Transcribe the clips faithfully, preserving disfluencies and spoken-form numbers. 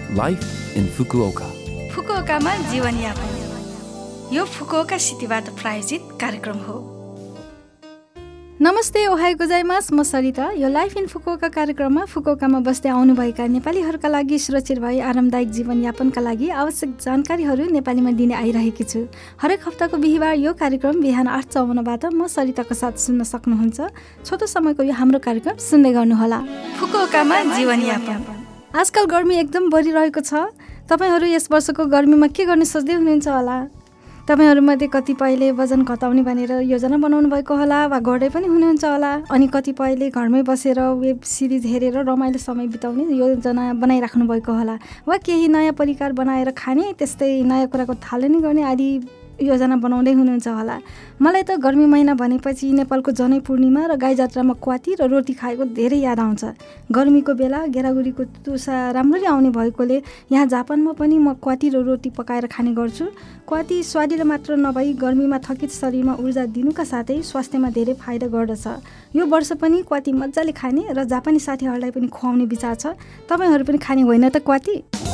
Life in Fukuoka. फुकुओकामा जीवनयापन यो Fukuoka सिटीबाट प्रायोजित कार्यक्रम हो। नमस्ते, ओहाई गोजाइमास, म सरिता। यो लाइफ इन फुकुओका कार्यक्रममा फुकुओकामा बस्दै आउनुभएका नेपालीहरूका लागि सुरक्षित भई आरामदायक जीवनयापनका लागि आवश्यक जानकारीहरू नेपालीमा दिने आइरहेकी छु। हरेक हप्ताको बिहिबार यो कार्यक्रम बिहान आठ चौवन्नबाट म सरिताको साथ सुन्न सक्नुहुन्छ। छोटो समयको यो हाम्रो कार्यक्रम सुन्दै गर्नुहोला। फुकुओकामा जीवनयापन। आजकल गर्मी एकदम बढिरहेको छ। तपाईहरू यस वर्षको गर्मीमा के गर्ने सोच्दै हुनुहुन्छ होला? तपाईहरूमध्ये कतिपयले वजन घटाउने भनेर योजना बनाउनु भएको होला वा गर्दै पनि हुनुहुन्छ होला। अनि कतिपयले घरमै बसेर वेब सिरिज हेरेर रमाइलो समय बिताउने योजना बनाइराख्नु भएको होला, वा केही नयाँ परिकार बनाएर खाने, त्यस्तै नयाँ कुराको थालनी गर्ने आदि योजना बनाउँदै हुनुहुन्छ होला। मलाई त गर्मी महिना भनेपछि नेपालको जनै पूर्णिमा र गाई जात्रामा क्वाती र रोटी खाएको धेरै याद आउँछ। गर्मीको बेला गेरागुरीको तुसा राम्ररी आउने भएकोले यहाँ जापानमा पनि म क्वाती र रोटी पकाएर खाने गर्छु। क्वाती स्वादिलो मात्र नभई गर्मीमा थकित शरीरमा ऊर्जा दिनुका साथै स्वास्थ्यमा धेरै फाइदा गर्दछ। यो वर्ष पनि क्वाती मजाले खाने र जापानी साथीहरूलाई पनि खुवाउने विचार छ। तपाईहरू पनि खाने होइन त क्वाती?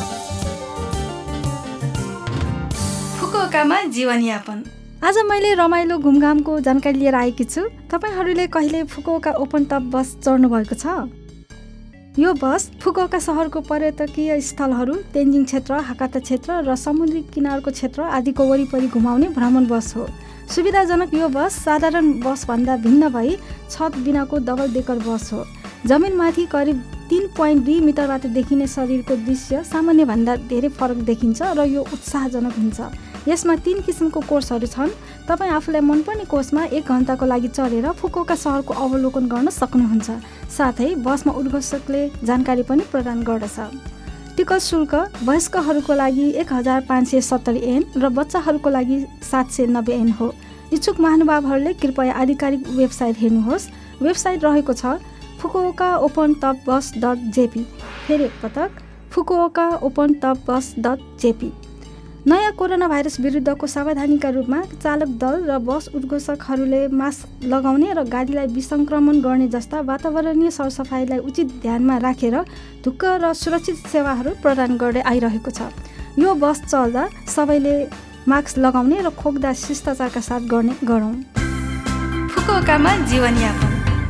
फुकुओकामा जीवनयापन। आज मैले रमाइलो घुमघामको जानकारी लिएर आएकी छु। तपाईहरूले कहिले फुकुओका ओपन टप बस चढ्नु भएको छ? यो बस फुकुओका सहरको पर्यटकीय स्थलहरू, तेन्जिङ क्षेत्र, हाकाता क्षेत्र र समुद्री किनारको क्षेत्र आदिको वरिपरि घुमाउने भ्रमण बस हो। सुविधाजनक यो बस साधारण बसभन्दा भिन्न भई छत बिनाको डबल डेकर बस हो। जमिनमाथि करिब तीन पोइन्ट दुई मिटरबाट देखिने शरीरको दृश्य सामान्यभन्दा धेरै फरक देखिन्छ र यो उत्साहजनक हुन्छ। यसमा तीन किसिमको कोर्सहरू छन्। तपाईँ आफूलाई मनपर्ने कोर्समा एक घन्टाको लागि चढेर फुकुओका सहरको अवलोकन गर्न सक्नुहुन्छ। साथै बसमा उद्घोषकले जानकारी पनि प्रदान गर्दछ। टिकट शुल्क वयस्कहरूको लागि एक हजार पाँच सय सत्तरी एन र बच्चाहरूको लागि सात सय नब्बे एन हो। इच्छुक महानुभावहरूले कृपया आधिकारिक वेबसाइट हेर्नुहोस्। वेबसाइट रहेको छ फुकुओका ओपन टप बस डट जेपी। फेरि एकपटक फुकुओका ओपन टप बस डट जेपी। नयाँ कोरोना भाइरस विरुद्धको सावधानीका रूपमा चालक दल र बस उद्घोषकहरूले मास्क लगाउने र गाडीलाई विसङ्क्रमण गर्ने जस्ता वातावरणीय सरसफाइलाई उचित ध्यानमा राखेर ढुक्क र सुरक्षित सेवाहरू प्रदान गर्दै आइरहेको छ। यो बस चल्दा सबैले मास्क लगाउने र खोक्दा शिष्टाचारका साथ गर्ने गरौँ। फुकुओकामा जीवनयापन।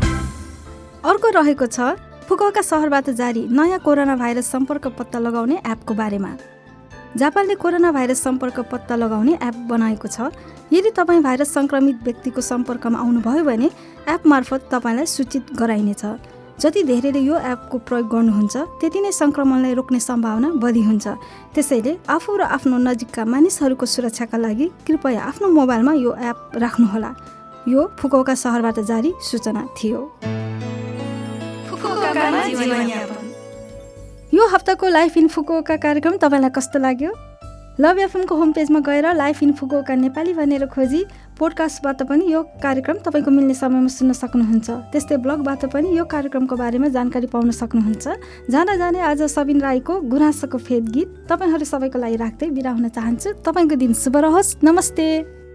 अर्को रहेको छ फुकुओका सहरबाट जारी नयाँ कोरोना भाइरस सम्पर्क पत्ता लगाउने एपको बारेमा। जापानले कोरोना भाइरस सम्पर्क पत्ता लगाउने एप बनाएको छ। यदि तपाईँ भाइरस सङ्क्रमित व्यक्तिको सम्पर्कमा आउनुभयो भने एप मार्फत तपाईँलाई सूचित गराइनेछ। जति धेरैले यो एपको प्रयोग गर्नुहुन्छ त्यति नै सङ्क्रमणलाई रोक्ने सम्भावना बढी हुन्छ। त्यसैले आफू र आफ्नो नजिकका मानिसहरूको सुरक्षाका लागि कृपया आफ्नो मोबाइलमा यो एप राख्नुहोला। यो फुकुओका सहरबाट जारी सूचना थियो। फुकुओकामा जीवनयापन। यो हप्ताको लाइफ इन फुकुओका कार्यक्रम तपाईँलाई कस्तो लाग्यो? लभ एफएमको होम पेजमा गएर लाइफ इन फुकुओका नेपाली भनेर खोजी पोडकास्टबाट पनि यो कार्यक्रम तपाईँको मिल्ने समयमा सुन्न सक्नुहुन्छ। त्यस्तै ब्लगबाट पनि यो कार्यक्रमको बारेमा जानकारी पाउन सक्नुहुन्छ। जाँदा जाँदै आज सबिन राईको गुनासोको फेद गीत तपाईँहरू सबैको लागि राख्दै बिदा हुन चाहन्छु। तपाईँको दिन शुभ रहोस्। नमस्ते।